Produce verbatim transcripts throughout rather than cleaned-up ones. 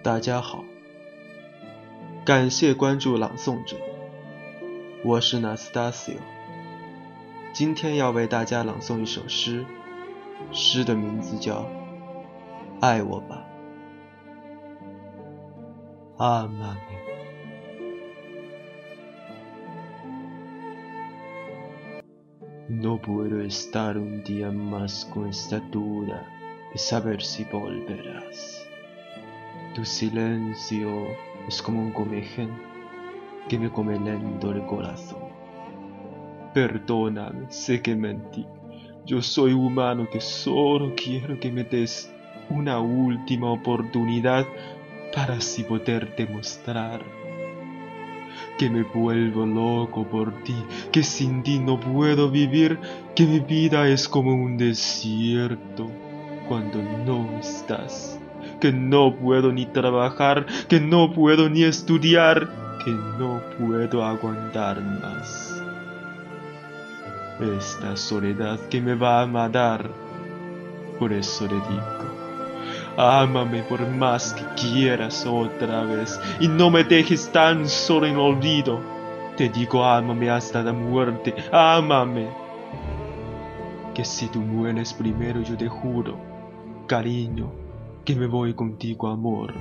大家好，感谢关注朗诵者，我是 Nastasio， 今天要为大家朗诵一首诗，诗的名字叫《爱我吧》。Amame. No puedo estar un día más con esta duda de saber si volverás. Tu silencio es como un comején que me come lento el corazón. Perdóname, sé que mentí. Yo soy humano que solo quiero que me des una última oportunidad para así poder demostrar que me vuelvo loco por ti, que sin ti no puedo vivir, que mi vida es como un desierto cuando no estás, que no puedo ni trabajar, que no puedo ni estudiar, que no puedo aguantar más. Esta soledad que me va a matar, por eso le digo, ámame por más que quieras otra vez y no me dejes tan solo en olvido. Te digo ámame hasta la muerte, ámame. Que si tú mueres primero yo te juro, cariño, que me voy contigo, amor.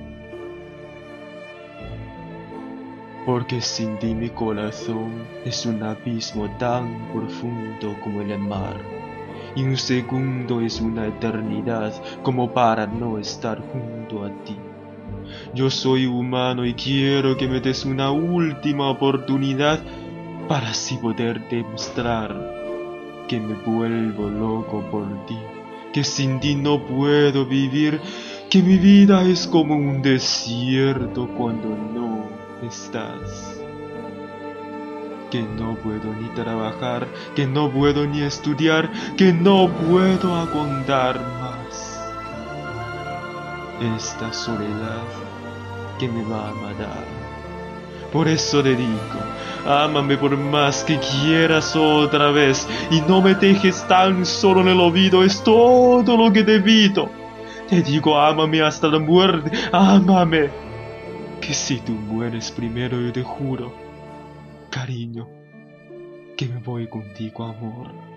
Porque sin ti mi corazón es un abismo tan profundo como el mar. Y un segundo es una eternidad como para no estar junto a ti. Yo soy humano y quiero que me des una última oportunidad para así poder demostrar que me vuelvo loco por ti, que sin ti no puedo vivir, que mi vida es como un desierto cuando no estás. Que no puedo ni trabajar, que no puedo ni estudiar, que no puedo aguantar más. Esta soledad que me va a matar. Por eso te digo, ámame por más que quieras otra vez y no me dejes tan solo en el olvido, es todo lo que te pido. Te digo, ámame hasta la muerte, ámame. Que si tú mueres primero yo te juro, cariño, que me voy contigo, amor.